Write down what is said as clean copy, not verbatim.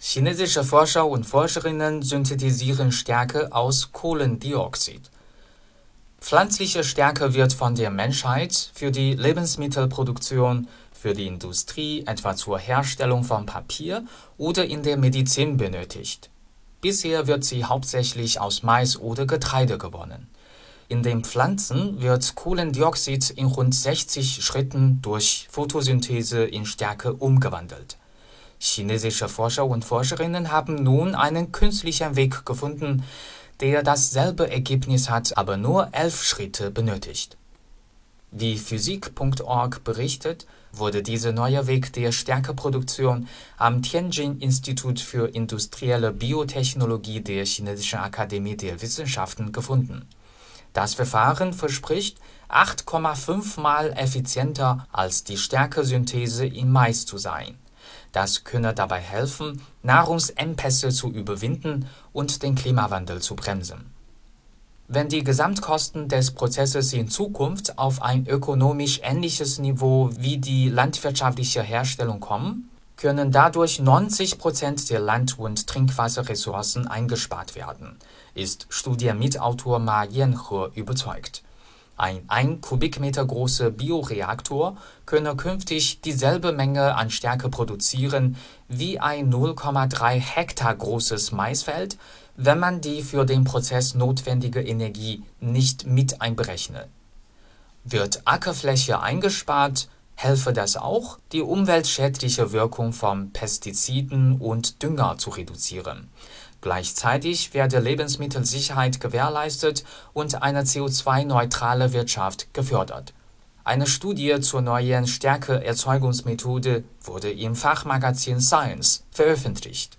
Chinesische Forscher und Forscherinnen synthetisieren Stärke aus Kohlendioxid. Pflanzliche Stärke wird von der Menschheit für die Lebensmittelproduktion, für die Industrie, etwa zur Herstellung von Papier oder in der Medizin benötigt. Bisher wird sie hauptsächlich aus Mais oder Getreide gewonnen. In den Pflanzen wird Kohlendioxid in rund 60 Schritten durch Photosynthese in Stärke umgewandelt. Chinesische Forscher und Forscherinnen haben nun einen künstlichen Weg gefunden, der dasselbe Ergebnis hat, aber nur 11 Schritte benötigt. Wie Physik.org berichtet, wurde dieser neue Weg der Stärkeproduktion am Tianjin-Institut für industrielle Biotechnologie der Chinesischen Akademie der Wissenschaften gefunden. Das Verfahren verspricht 8,5 Mal effizienter als die Stärkesynthese in Mais zu sein. Das könne dabei helfen, Nahrungsengpässe zu überwinden und den Klimawandel zu bremsen. Wenn die Gesamtkosten des Prozesses in Zukunft auf ein ökonomisch ähnliches Niveau wie die landwirtschaftliche Herstellung kommen, können dadurch 90% der Land- und Trinkwasserressourcen eingespart werden, ist Studienmitautor Ma Yanhe überzeugt. Ein 1 Kubikmeter großer Bioreaktor könne künftig dieselbe Menge an Stärke produzieren wie ein 0,3 Hektar großes Maisfeld, wenn man die für den Prozess notwendige Energie nicht mit einberechne. Wird Ackerfläche eingespart, helfe das auch, die umweltschädliche Wirkung von Pestiziden und Dünger zu reduzieren. Gleichzeitig werde Lebensmittelsicherheit gewährleistet und eine CO2-neutrale Wirtschaft gefördert. Eine Studie zur neuen Stärkeerzeugungsmethode wurde im Fachmagazin Science veröffentlicht.